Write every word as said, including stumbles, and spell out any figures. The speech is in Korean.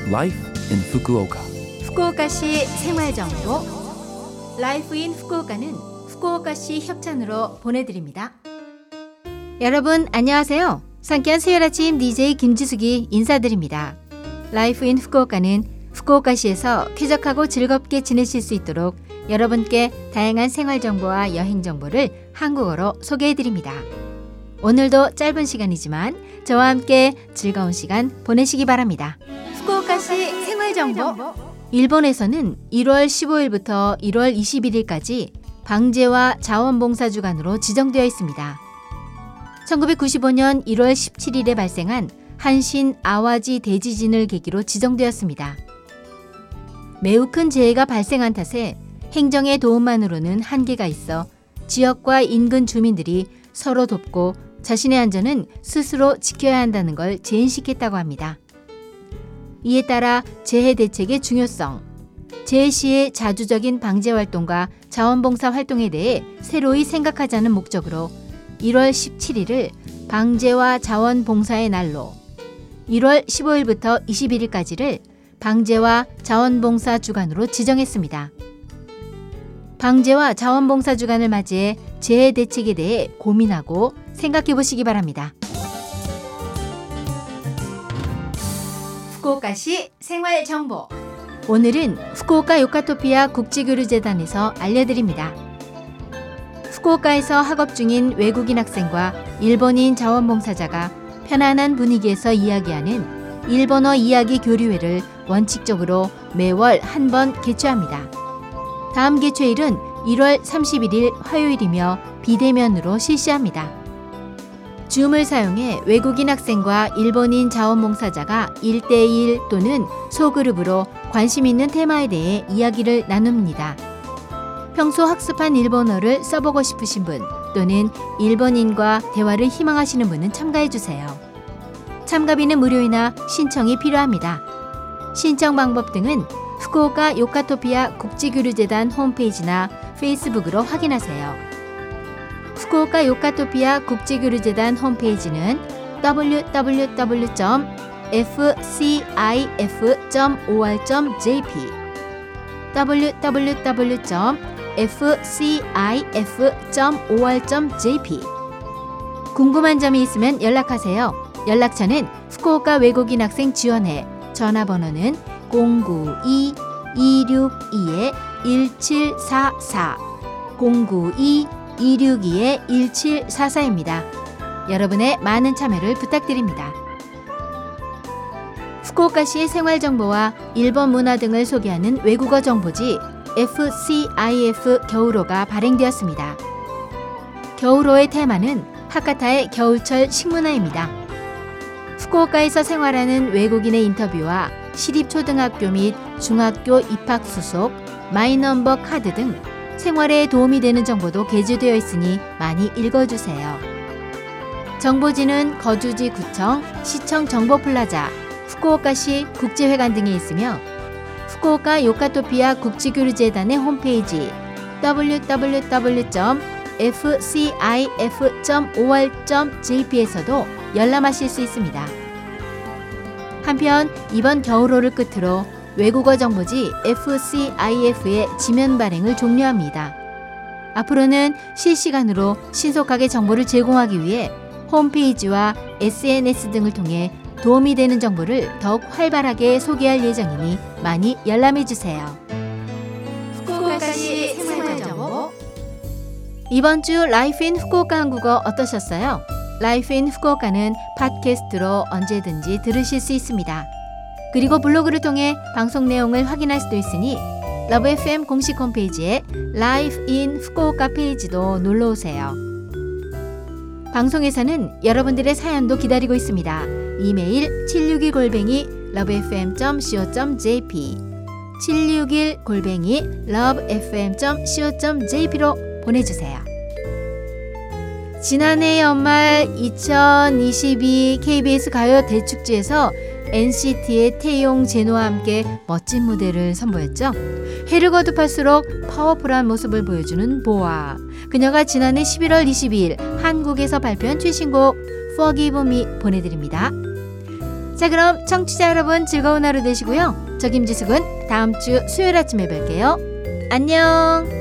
Life in Fukuoka. 후쿠오카시 생활정보 라이프 인 후쿠오카는 후쿠오카시 협찬으로 보내드립니다. 여러분 안녕하세요. 상쾌한 수요일 아침 디제이 김지숙이 인사드립니다. 라이프 인 후쿠오카는 후쿠오카시에서 쾌적하고 즐겁게 지내실 수 있도록 여러분께 다양한 생활정보와 여행정보를 한국어로 소개해드립니다. 오늘도 짧은 시간이지만 저와 함께 즐거운 시간 보내시기 바랍니다. 후쿠오카시 생활정보. 일본에서는 일월 십오일부터 일월 이십일일까지 방제와 자원봉사주간으로 지정되어 있습니다. 천구백구십오년 일월 십칠일에 발생한 한신 아와지 대지진을 계기로 지정되었습니다. 매우 큰 재해가 발생한 탓에 행정의 도움만으로는 한계가 있어 지역과 인근 주민들이 서로 돕고 자신의 안전은 스스로 지켜야 한다는 걸 제인시켰다고 합니다. 이에 따라 재해 대책의 중요성, 재해 시의 자주적인 방제 활동과 자원봉사 활동에 대해 새로이 생각하자는 목적으로 일월 십칠일을 방제와 자원봉사의 날로, 일월 십오일부터 이십일일까지를 방제와 자원봉사 주간으로 지정했습니다. 방제와 자원봉사 주간을 맞이해 재해 대책에 대해 고민하고 생각해 보시기 바랍니다. 후쿠오카시 생활정보. 오늘은 후쿠오카 요카토피아 국제교류재단에서 알려드립니다. 후쿠오카에서 학업 중인 외국인 학생과 일본인 자원봉사자가 편안한 분위기에서 이야기하는 일본어 이야기 교류회를 원칙적으로 매월 한 번 개최합니다. 다음 개최일은 일월 삼십일일 화요일이며 비대면으로 실시합니다. 줌을 사용해 외국인 학생과 일본인 자원봉사자가 일 대일 또는 소그룹으로 관심 있는 테마에 대해 이야기를 나눕니다. 평소 학습한 일본어를 써보고 싶으신 분 또는 일본인과 대화를 희망하시는 분은 참가해주세요. 참가비는 무료이나 신청이 필요합니다. 신청 방법 등은 후쿠오카 요카토피아 국제교류재단 홈페이지나 페이스북으로 확인하세요. 후쿠오카 요카토피아 국제교류재단 홈페이지는 더블유 더블유 더블유 점 에프 씨 아이 에프 점 오알 점 제이피 더블유 더블유 더블유 점 에프 씨 아이 에프 점 오알 점 제이피. 궁금한 점이 있으면 연락하세요. 연락처는 후쿠오카 외국인 학생 지원회, 전화번호는 공구이 이육이 일칠사사 공구이 이육이 일칠사사입니다. 여러분의 많은 참여를 부탁드립니다. 후쿠오카시의 생활정보와 일본 문화 등을 소개하는 외국어 정보지 에프 씨 아이 에프 겨울호가 발행되었습니다. 겨울호의 테마는 하카타의 겨울철 식문화입니다. 후쿠오카에서 생활하는 외국인의 인터뷰와 시립초등학교 및 중학교 입학 수속, 마이넘버 카드 등 생활에 도움이 되는 정보도 게재되어 있으니 많이 읽어주세요. 정보지는 거주지 구청, 시청 정보플라자, 후쿠오카시 국제회관 등에 있으며 후쿠오카 요카토피아 국제교류재단의 홈페이지 더블유 더블유 더블유 점 에프 씨 아이 에프 점 오알 점 제이피에서도 열람하실 수 있습니다. 한편 이번 겨울호를 끝으로 외국어 정보지 에프 씨 아이 에프의 지면 발행을 종료합니다. 앞으로는 실시간으로 신속하게 정보를 제공하기 위해 홈페이지와 에스엔에스 등을 통해 도움이 되는 정보를 더욱 활발하게 소개할 예정이니 많이 열람해주세요. 후쿠오카시 생활정보. 이번 주 라이프 인 후쿠오카 한국어 어떠셨어요? 라이프 인 후쿠오카는 팟캐스트로 언제든지 들으실 수 있습니다. 그리고 블로그를 통해 방송 내용을 확인할 수도 있으니 러브 에프엠 공식 홈페이지에 라이프 인 후쿠오카 페이지도 놀러오세요. 방송에서는 여러분들의 사연도 기다리고 있습니다. 이메일 칠육일 골뱅이 러브에프엠 점 씨오 점 제이피 칠육일 골뱅이 러브에프엠 점 씨오 점 제이피로 보내주세요. 지난해 연말 이천이십이 케이비에스 가요 대축제에서 엔시티의 태용 제노와 함께 멋진 무대를 선보였죠. 해를 거듭할수록 파워풀한 모습을 보여주는 보아. 그녀가 지난해 십일월 이십이일 한국에서 발표한 최신곡 Forgive Me 보내드립니다. 자, 그럼 청취자 여러분 즐거운 하루 되시고요. 저 김지숙은 다음 주 수요일 아침에 뵐게요. 안녕.